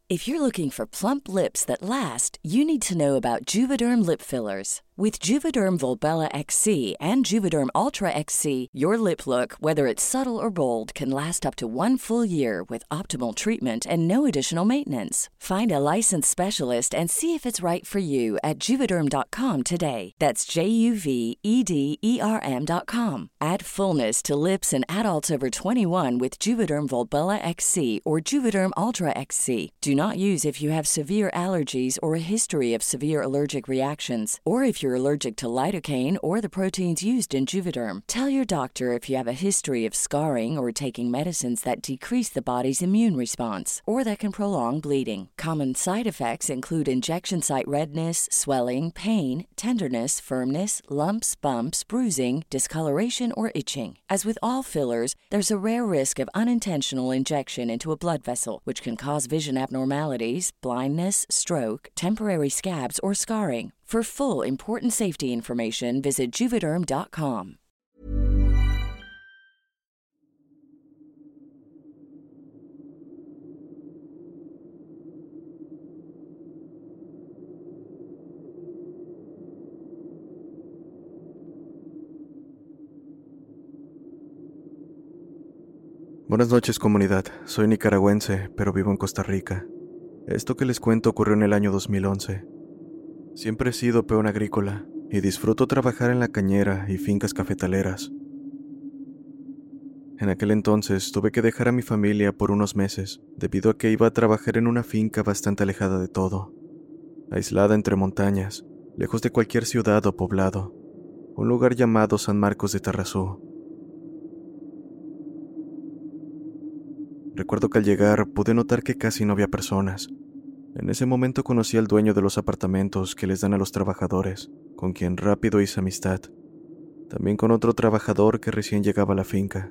If you're looking for plump lips that last, you need to know about Juvederm lip fillers. With Juvederm Volbella XC and Juvederm Ultra XC, your lip look, whether it's subtle or bold, can last up to 1 full year with optimal treatment and no additional maintenance. Find a licensed specialist and see if it's right for you at Juvederm.com today. That's JUVEDERM.com. Add fullness to lips in adults over 21 with Juvederm Volbella XC or Juvederm Ultra XC. Do not use if you have severe allergies or a history of severe allergic reactions, or if you're allergic to lidocaine or the proteins used in Juvederm. Tell your doctor if you have a history of scarring or taking medicines that decrease the body's immune response or that can prolong bleeding. Common side effects include injection site redness, swelling, pain, tenderness, firmness, lumps, bumps, bruising, discoloration, or itching. As with all fillers, there's a rare risk of unintentional injection into a blood vessel, which can cause vision abnormalities, blindness, stroke, temporary scabs, or scarring. For full, important safety information, visit Juvederm.com. Buenas noches, comunidad. Soy nicaragüense, pero vivo en Costa Rica. Esto que les cuento ocurrió en el año 2011. Siempre he sido peón agrícola y disfruto trabajar en la cañera y fincas cafetaleras. En aquel entonces tuve que dejar a mi familia por unos meses debido a que iba a trabajar en una finca bastante alejada de todo, aislada entre montañas, lejos de cualquier ciudad o poblado, un lugar llamado San Marcos de Tarrazú. Recuerdo que al llegar pude notar que casi no había personas. En ese momento conocí al dueño de los apartamentos que les dan a los trabajadores, con quien rápido hice amistad. También con otro trabajador que recién llegaba a la finca.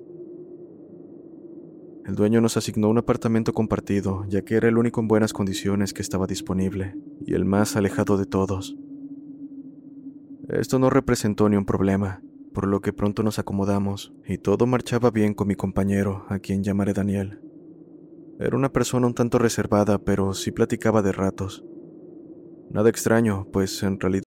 El dueño nos asignó un apartamento compartido, ya que era el único en buenas condiciones que estaba disponible, y el más alejado de todos. Esto no representó ni un problema, por lo que pronto nos acomodamos, y todo marchaba bien con mi compañero, a quien llamaré Daniel. Era una persona un tanto reservada, pero sí platicaba de ratos. Nada extraño, pues en realidad...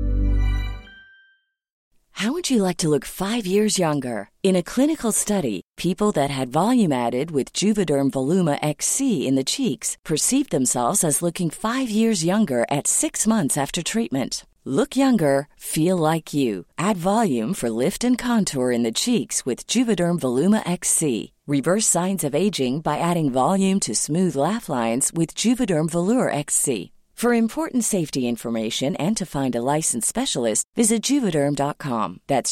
How would you like to look 5 years younger? In a clinical study, people that had volume added with Juvederm Voluma XC in the cheeks perceived themselves as looking 5 years younger at 6 months after treatment. Look younger, feel like you. Add volume for lift and contour in the cheeks with Juvederm Voluma XC. Reverse signs of aging by adding volume to smooth laugh lines with Juvederm Volure XC. For important safety information and to find a licensed specialist, visit Juvederm.com. That's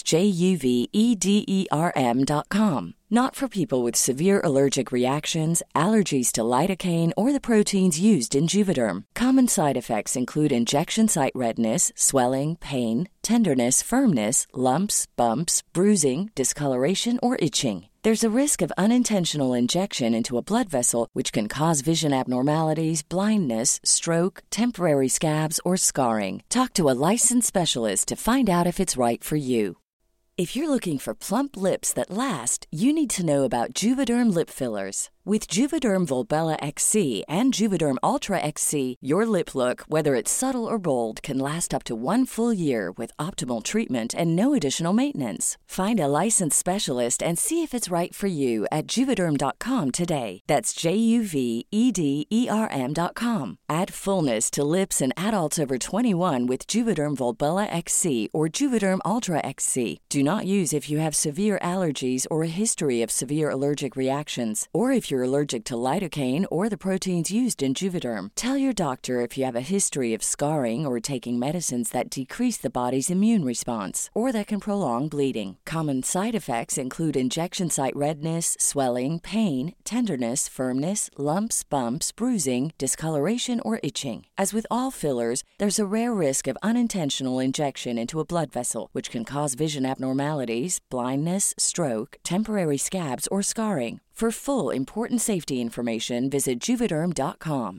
JUVEDERM.com. Not for people with severe allergic reactions, allergies to lidocaine, or the proteins used in Juvederm. Common side effects include injection site redness, swelling, pain, tenderness, firmness, lumps, bumps, bruising, discoloration, or itching. There's a risk of unintentional injection into a blood vessel, which can cause vision abnormalities, blindness, stroke, temporary scabs, or scarring. Talk to a licensed specialist to find out if it's right for you. If you're looking for plump lips that last, you need to know about Juvederm lip fillers. With Juvederm Volbella XC and Juvederm Ultra XC, your lip look, whether it's subtle or bold, can last up to 1 full year with optimal treatment and no additional maintenance. Find a licensed specialist and see if it's right for you at Juvederm.com today. That's JUVEDERM.com. Add fullness to lips in adults over 21 with Juvederm Volbella XC or Juvederm Ultra XC. Do not use if you have severe allergies or a history of severe allergic reactions, or if you're allergic to lidocaine or the proteins used in Juvederm. Tell your doctor if you have a history of scarring or taking medicines that decrease the body's immune response or that can prolong bleeding. Common side effects include injection site redness, swelling, pain, tenderness, firmness, lumps, bumps, bruising, discoloration, or itching. As with all fillers, there's a rare risk of unintentional injection into a blood vessel, which can cause vision abnormalities, blindness, stroke, temporary scabs, or scarring. For full, important safety information, visit Juvederm.com.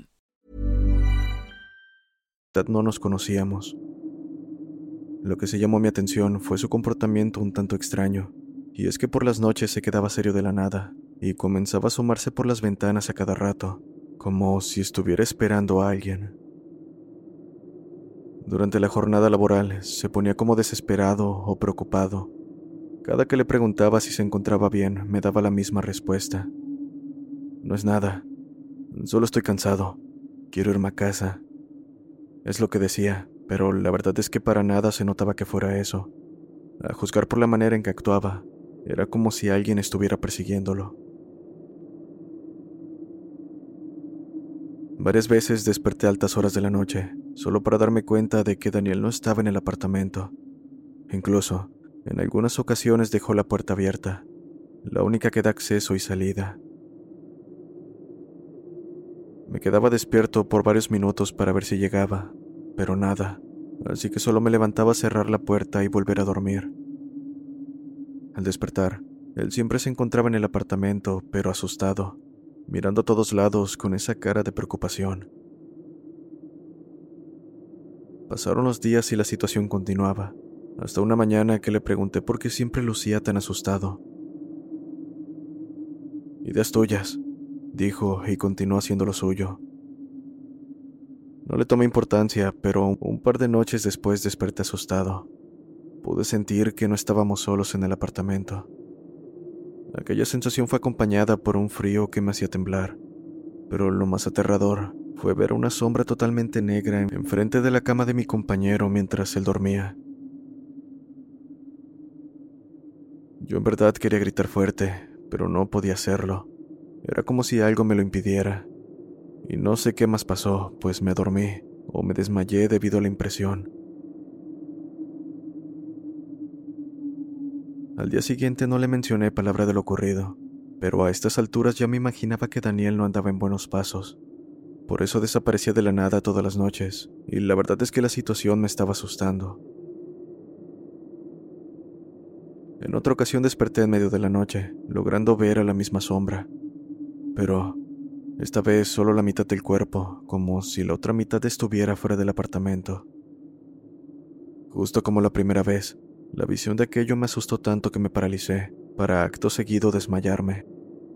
No nos conocíamos. Lo que se llamó mi atención fue su comportamiento un tanto extraño, y es que por las noches se quedaba serio de la nada, y comenzaba a asomarse por las ventanas a cada rato, como si estuviera esperando a alguien. Durante la jornada laboral se ponía como desesperado o preocupado. Cada que le preguntaba si se encontraba bien, me daba la misma respuesta. No es nada, solo estoy cansado, quiero irme a casa. Es lo que decía, pero la verdad es que para nada se notaba que fuera eso. A juzgar por la manera en que actuaba, era como si alguien estuviera persiguiéndolo. Varias veces desperté a altas horas de la noche, solo para darme cuenta de que Daniel no estaba en el apartamento. Incluso, en algunas ocasiones dejó la puerta abierta, la única que da acceso y salida. Me quedaba despierto por varios minutos para ver si llegaba, pero nada, así que solo me levantaba a cerrar la puerta y volver a dormir. Al despertar, él siempre se encontraba en el apartamento, pero asustado, mirando a todos lados con esa cara de preocupación. Pasaron los días y la situación continuaba, hasta una mañana que le pregunté por qué siempre lucía tan asustado. «Ideas tuyas», dijo y continuó haciendo lo suyo. No le tomé importancia, pero un par de noches después desperté asustado. Pude sentir que no estábamos solos en el apartamento. Aquella sensación fue acompañada por un frío que me hacía temblar, pero lo más aterrador fue ver una sombra totalmente negra enfrente de la cama de mi compañero mientras él dormía. Yo en verdad quería gritar fuerte, pero no podía hacerlo. Era como si algo me lo impidiera. Y no sé qué más pasó, pues me dormí o me desmayé debido a la impresión. Al día siguiente no le mencioné palabra de lo ocurrido, pero a estas alturas ya me imaginaba que Daniel no andaba en buenos pasos. Por eso desaparecía de la nada todas las noches, y la verdad es que la situación me estaba asustando. En otra ocasión desperté en medio de la noche, logrando ver a la misma sombra. Pero esta vez solo la mitad del cuerpo, como si la otra mitad estuviera fuera del apartamento. Justo como la primera vez, la visión de aquello me asustó tanto que me paralicé, para acto seguido desmayarme.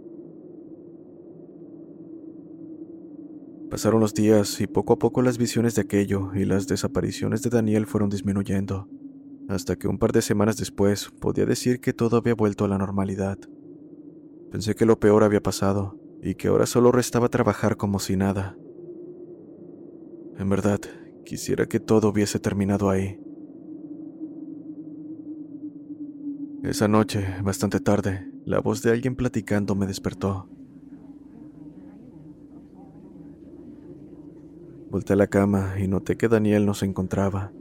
Pasaron los días y poco a poco las visiones de aquello y las desapariciones de Daniel fueron disminuyendo, hasta que un par de semanas después podía decir que todo había vuelto a la normalidad. Pensé que lo peor había pasado y que ahora solo restaba trabajar como si nada. En verdad, quisiera que todo hubiese terminado ahí. Esa noche, bastante tarde, la voz de alguien platicando me despertó. Volté a la cama y noté que Daniel no se encontraba.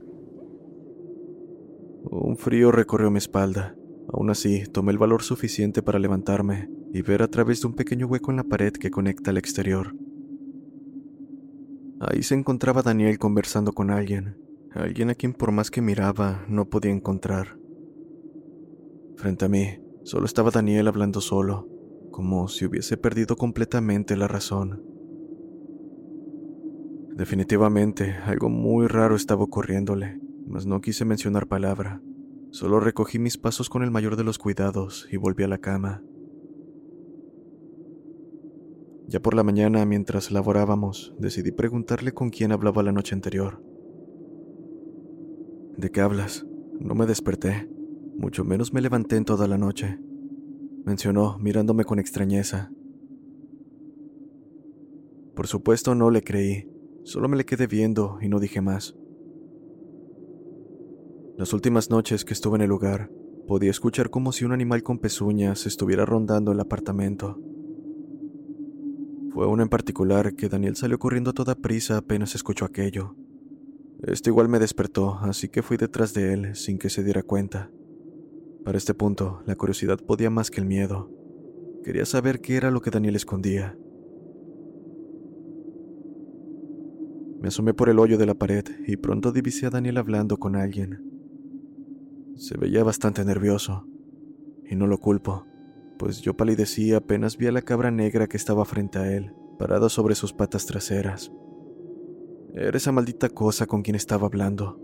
Un frío recorrió mi espalda. Aún así, tomé el valor suficiente para levantarme y ver a través de un pequeño hueco en la pared que conecta al exterior. Ahí se encontraba Daniel conversando con alguien a quien por más que miraba no podía encontrar. Frente a mí, solo estaba Daniel hablando solo, como si hubiese perdido completamente la razón. Definitivamente, algo muy raro estaba ocurriéndole, mas no quise mencionar palabra. Solo recogí mis pasos con el mayor de los cuidados y volví a la cama. Ya por la mañana, mientras laborábamos, decidí preguntarle con quién hablaba la noche anterior. «¿De qué hablas? No me desperté, mucho menos me levanté en toda la noche», mencionó, mirándome con extrañeza. Por supuesto no le creí, solo me le quedé viendo y no dije más. Las últimas noches que estuve en el lugar, podía escuchar como si un animal con pezuñas estuviera rondando el apartamento. Fue una en particular que Daniel salió corriendo a toda prisa apenas escuchó aquello. Esto igual me despertó, así que fui detrás de él sin que se diera cuenta. Para este punto, la curiosidad podía más que el miedo. Quería saber qué era lo que Daniel escondía. Me asomé por el hoyo de la pared y pronto divisé a Daniel hablando con alguien. Se veía bastante nervioso, y no lo culpo, pues yo palidecí apenas vi a la cabra negra que estaba frente a él, parada sobre sus patas traseras. Era esa maldita cosa con quien estaba hablando.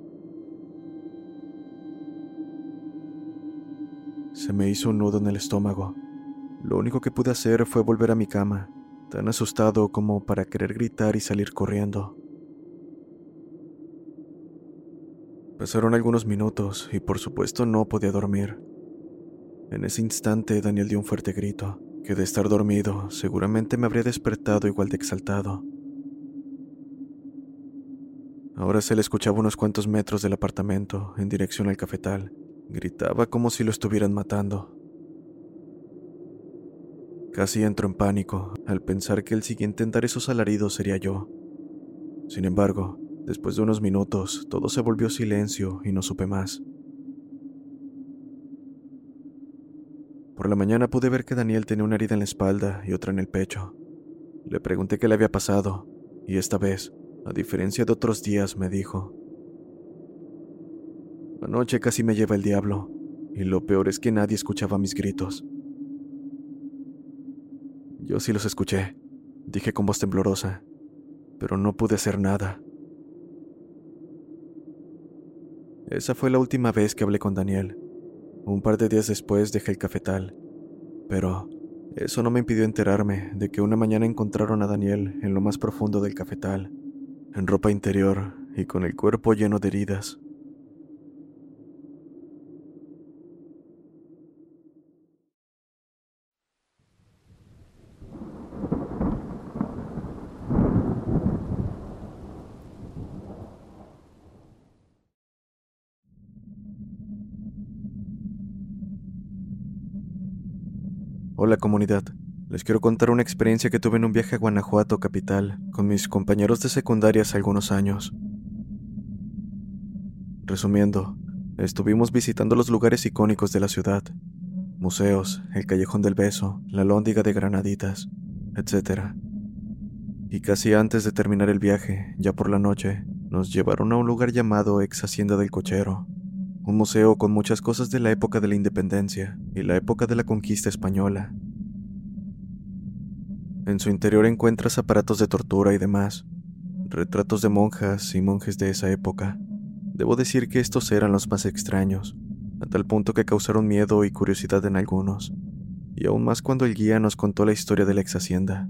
Se me hizo un nudo en el estómago. Lo único que pude hacer fue volver a mi cama, tan asustado como para querer gritar y salir corriendo. Pasaron algunos minutos y por supuesto no podía dormir. En ese instante Daniel dio un fuerte grito, que de estar dormido seguramente me habría despertado igual de exaltado. Ahora se le escuchaba unos cuantos metros del apartamento, en dirección al cafetal. Gritaba como si lo estuvieran matando. Casi entro en pánico al pensar que el siguiente en dar esos alaridos sería yo. Sin embargo, después de unos minutos, todo se volvió silencio y no supe más. Por la mañana pude ver que Daniel tenía una herida en la espalda y otra en el pecho. Le pregunté qué le había pasado, y esta vez, a diferencia de otros días, me dijo: anoche casi me lleva el diablo, y lo peor es que nadie escuchaba mis gritos. Yo sí los escuché, dije con voz temblorosa, pero no pude hacer nada. Esa fue la última vez que hablé con Daniel. Un par de días después dejé el cafetal, pero eso no me impidió enterarme de que una mañana encontraron a Daniel en lo más profundo del cafetal, en ropa interior y con el cuerpo lleno de heridas. Hola comunidad, les quiero contar una experiencia que tuve en un viaje a Guanajuato capital con mis compañeros de secundaria hace algunos años. Resumiendo, estuvimos visitando los lugares icónicos de la ciudad, museos, el Callejón del Beso, la Lóndiga de Granaditas, etc. Y casi antes de terminar el viaje, ya por la noche, nos llevaron a un lugar llamado Ex Hacienda del Cochero, un museo con muchas cosas de la época de la independencia y la época de la conquista española. En su interior encuentras aparatos de tortura y demás, retratos de monjas y monjes de esa época. Debo decir que estos eran los más extraños, a tal punto que causaron miedo y curiosidad en algunos, y aún más cuando el guía nos contó la historia de la ex hacienda.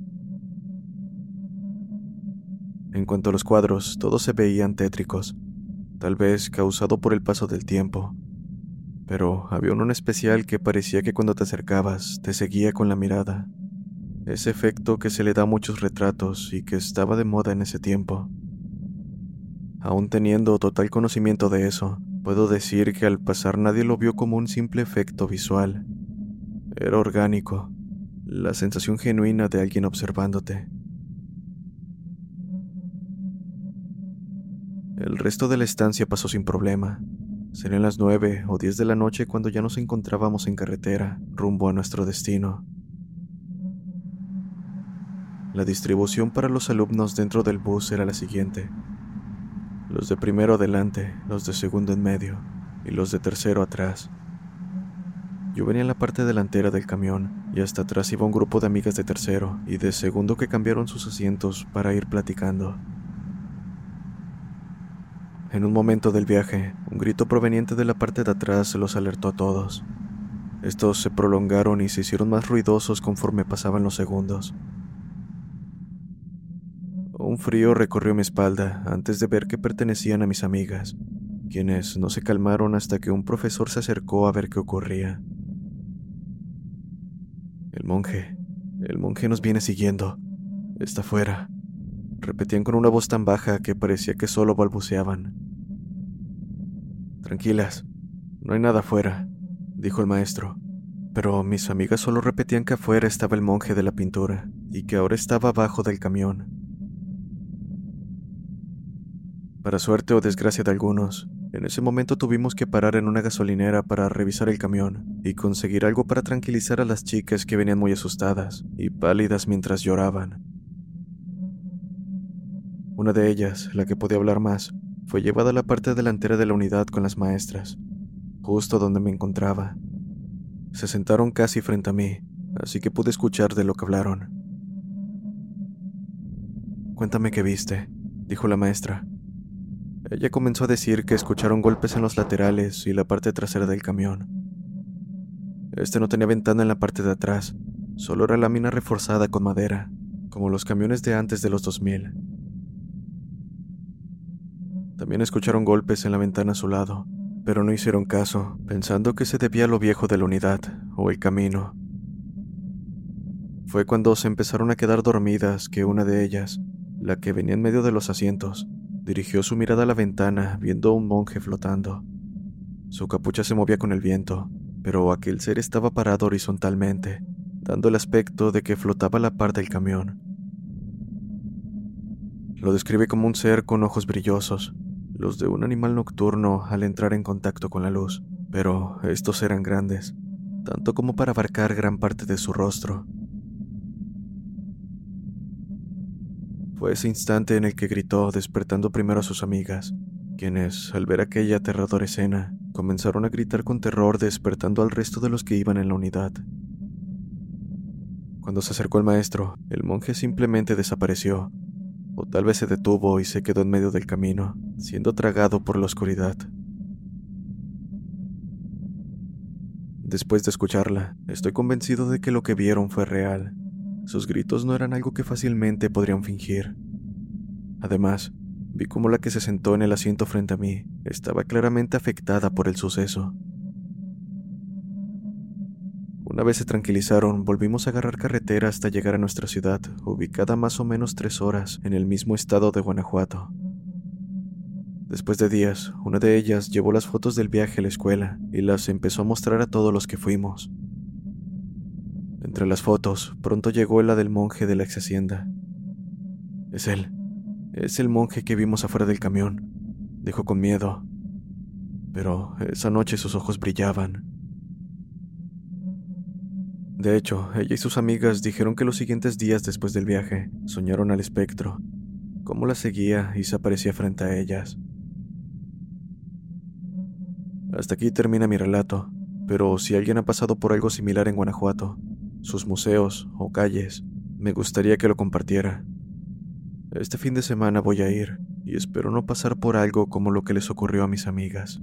En cuanto a los cuadros, todos se veían tétricos, tal vez causado por el paso del tiempo, pero había uno en especial que parecía que cuando te acercabas te seguía con la mirada, ese efecto que se le da a muchos retratos y que estaba de moda en ese tiempo. Aún teniendo total conocimiento de eso, puedo decir que al pasar nadie lo vio como un simple efecto visual. Era orgánico, la sensación genuina de alguien observándote. El resto de la estancia pasó sin problema. Serían las 9 o 10 de la noche cuando ya nos encontrábamos en carretera, rumbo a nuestro destino. La distribución para los alumnos dentro del bus era la siguiente: los de primero adelante, los de segundo en medio y los de tercero atrás. Yo venía en la parte delantera del camión y hasta atrás iba un grupo de amigas de tercero y de segundo que cambiaron sus asientos para ir platicando. En un momento del viaje, un grito proveniente de la parte de atrás los alertó a todos. Estos se prolongaron y se hicieron más ruidosos conforme pasaban los segundos. Un frío recorrió mi espalda antes de ver que pertenecían a mis amigas, quienes no se calmaron hasta que un profesor se acercó a ver qué ocurría. El monje nos viene siguiendo. Está fuera. Repetían con una voz tan baja que parecía que solo balbuceaban. Tranquilas, no hay nada afuera, dijo el maestro, pero mis amigas solo repetían que afuera estaba el monje de la pintura y que ahora estaba abajo del camión. Para suerte o desgracia de algunos, en ese momento tuvimos que parar en una gasolinera para revisar el camión y conseguir algo para tranquilizar a las chicas que venían muy asustadas y pálidas mientras lloraban. Una de ellas, la que podía hablar más, fue llevada a la parte delantera de la unidad con las maestras, justo donde me encontraba. Se sentaron casi frente a mí, así que pude escuchar de lo que hablaron. «Cuéntame qué viste», dijo la maestra. Ella comenzó a decir que escucharon golpes en los laterales y la parte trasera del camión. Este no tenía ventana en la parte de atrás, solo era lámina reforzada con madera, como los camiones de antes de los 2000. También escucharon golpes en la ventana a su lado, pero no hicieron caso, pensando que se debía a lo viejo de la unidad o el camino. Fue cuando se empezaron a quedar dormidas que una de ellas, la que venía en medio de los asientos, dirigió su mirada a la ventana viendo a un monje flotando. Su capucha se movía con el viento, pero aquel ser estaba parado horizontalmente, dando el aspecto de que flotaba a la par del camión. Lo describe como un ser con ojos brillosos, los de un animal nocturno al entrar en contacto con la luz, pero estos eran grandes, tanto como para abarcar gran parte de su rostro. Fue ese instante en el que gritó, despertando primero a sus amigas, quienes, al ver aquella aterradora escena, comenzaron a gritar con terror, despertando al resto de los que iban en la unidad. Cuando se acercó el maestro, el monje simplemente desapareció, o tal vez se detuvo y se quedó en medio del camino, siendo tragado por la oscuridad. Después de escucharla, estoy convencido de que lo que vieron fue real. Sus gritos no eran algo que fácilmente podrían fingir. Además, vi cómo la que se sentó en el asiento frente a mí estaba claramente afectada por el suceso. Una vez se tranquilizaron, volvimos a agarrar carretera hasta llegar a nuestra ciudad, ubicada a más o menos 3 horas en el mismo estado de Guanajuato. Después de días, una de ellas llevó las fotos del viaje a la escuela y las empezó a mostrar a todos los que fuimos. Entre las fotos, pronto llegó la del monje de la ex hacienda. Es él. Es el monje que vimos afuera del camión, dijo con miedo. Pero esa noche sus ojos brillaban. De hecho, ella y sus amigas dijeron que los siguientes días después del viaje soñaron al espectro, cómo la seguía y se aparecía frente a ellas. Hasta aquí termina mi relato, pero si alguien ha pasado por algo similar en Guanajuato, sus museos o calles, me gustaría que lo compartiera. Este fin de semana voy a ir y espero no pasar por algo como lo que les ocurrió a mis amigas.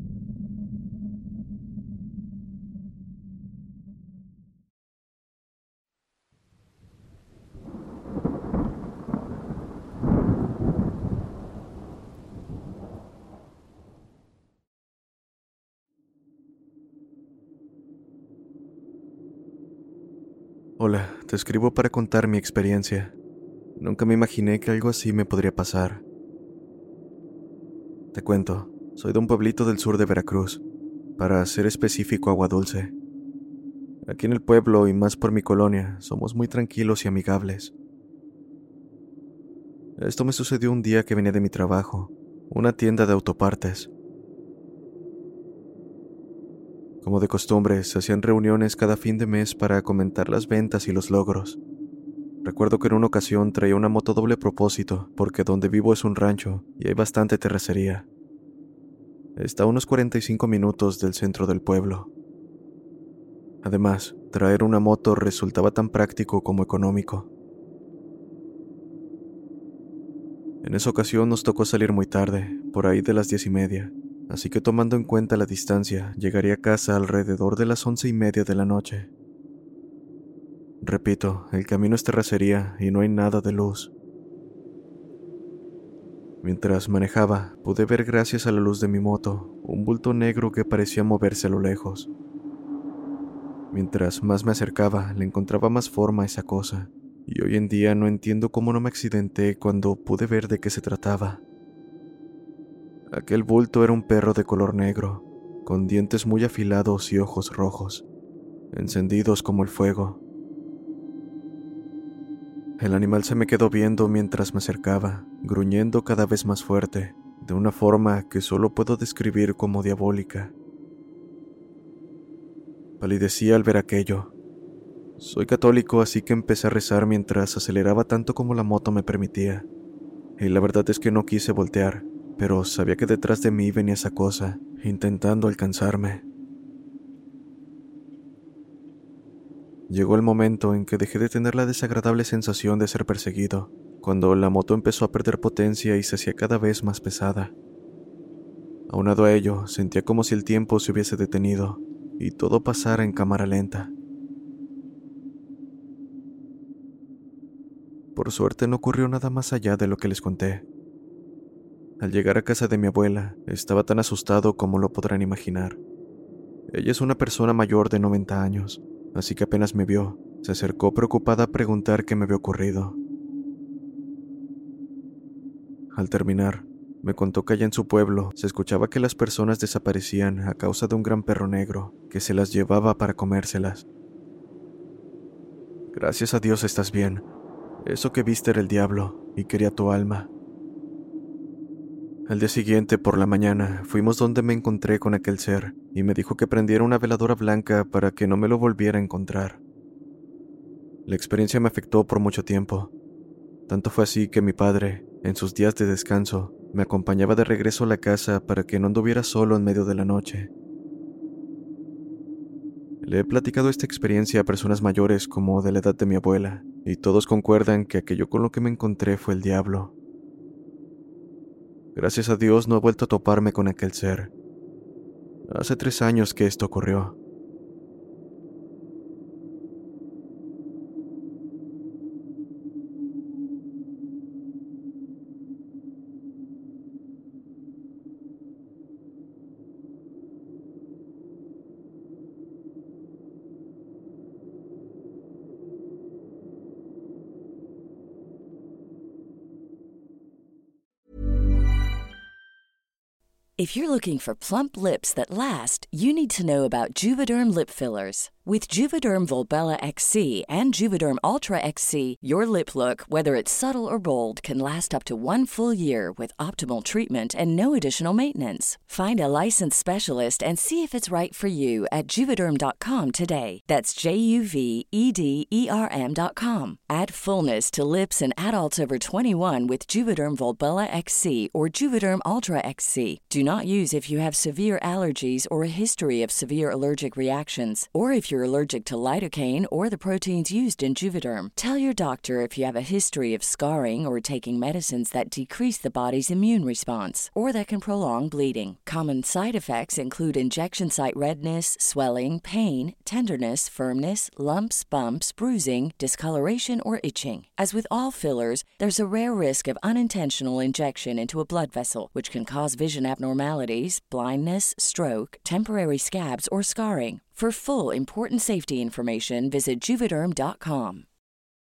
Hola, te escribo para contar mi experiencia. Nunca me imaginé que algo así me podría pasar. Te cuento, soy de un pueblito del sur de Veracruz, para ser específico Agua Dulce. Aquí en el pueblo y más por mi colonia, somos muy tranquilos y amigables. Esto me sucedió un día que venía de mi trabajo, una tienda de autopartes. Como de costumbre, se hacían reuniones cada fin de mes para comentar las ventas y los logros. Recuerdo que en una ocasión traía una moto doble propósito, porque donde vivo es un rancho y hay bastante terracería. Está a unos 45 minutos del centro del pueblo. Además, traer una moto resultaba tan práctico como económico. En esa ocasión nos tocó salir muy tarde, por ahí de las 10:30, así que tomando en cuenta la distancia, llegaría a casa alrededor de las 11:30 de la noche. Repito, el camino es terracería y no hay nada de luz. Mientras manejaba, pude ver gracias a la luz de mi moto un bulto negro que parecía moverse a lo lejos. Mientras más me acercaba, le encontraba más forma a esa cosa, y hoy en día no entiendo cómo no me accidenté cuando pude ver de qué se trataba. Aquel bulto era un perro de color negro, con dientes muy afilados y ojos rojos, encendidos como el fuego. El animal se me quedó viendo mientras me acercaba, gruñendo cada vez más fuerte, de una forma que solo puedo describir como diabólica. Palidecí al ver aquello. Soy católico, así que empecé a rezar mientras aceleraba tanto como la moto me permitía. Y la verdad es que no quise voltear, pero sabía que detrás de mí venía esa cosa, intentando alcanzarme. Llegó el momento en que dejé de tener la desagradable sensación de ser perseguido, cuando la moto empezó a perder potencia y se hacía cada vez más pesada. Aunado a ello, sentía como si el tiempo se hubiese detenido y todo pasara en cámara lenta. Por suerte no ocurrió nada más allá de lo que les conté. Al llegar a casa de mi abuela, estaba tan asustado como lo podrán imaginar. Ella es una persona mayor de 90 años, así que apenas me vio, se acercó preocupada a preguntar qué me había ocurrido. Al terminar, me contó que allá en su pueblo se escuchaba que las personas desaparecían a causa de un gran perro negro que se las llevaba para comérselas. Gracias a Dios estás bien. Eso que viste era el diablo y quería tu alma. Al día siguiente, por la mañana, fuimos donde me encontré con aquel ser y me dijo que prendiera una veladora blanca para que no me lo volviera a encontrar. La experiencia me afectó por mucho tiempo. Tanto fue así que mi padre, en sus días de descanso, me acompañaba de regreso a la casa para que no anduviera solo en medio de la noche. Le he platicado esta experiencia a personas mayores como de la edad de mi abuela, y todos concuerdan que aquello con lo que me encontré fue el diablo. Gracias a Dios no he vuelto a toparme con aquel ser. Hace 3 años que esto ocurrió. If you're looking for plump lips that last, you need to know about Juvederm lip fillers. With Juvederm Volbella XC and Juvederm Ultra XC, your lip look, whether it's subtle or bold, can last up to 1 full year with optimal treatment and no additional maintenance. Find a licensed specialist and see if it's right for you at Juvederm.com today. That's JUVEDERM.com. Add fullness to lips in adults over 21 with Juvederm Volbella XC or Juvederm Ultra XC. Do not use if you have severe allergies or a history of severe allergic reactions, or if you're allergic to lidocaine or the proteins used in Juvederm. Tell your doctor if you have a history of scarring or taking medicines that decrease the body's immune response or that can prolong bleeding. Common side effects include injection site redness, swelling, pain, tenderness, firmness, lumps, bumps, bruising, discoloration, or itching. As with all fillers, there's a rare risk of unintentional injection into a blood vessel, which can cause vision abnormalities, blindness, stroke, temporary scabs, or scarring. For full, important safety information, visit Juvederm.com.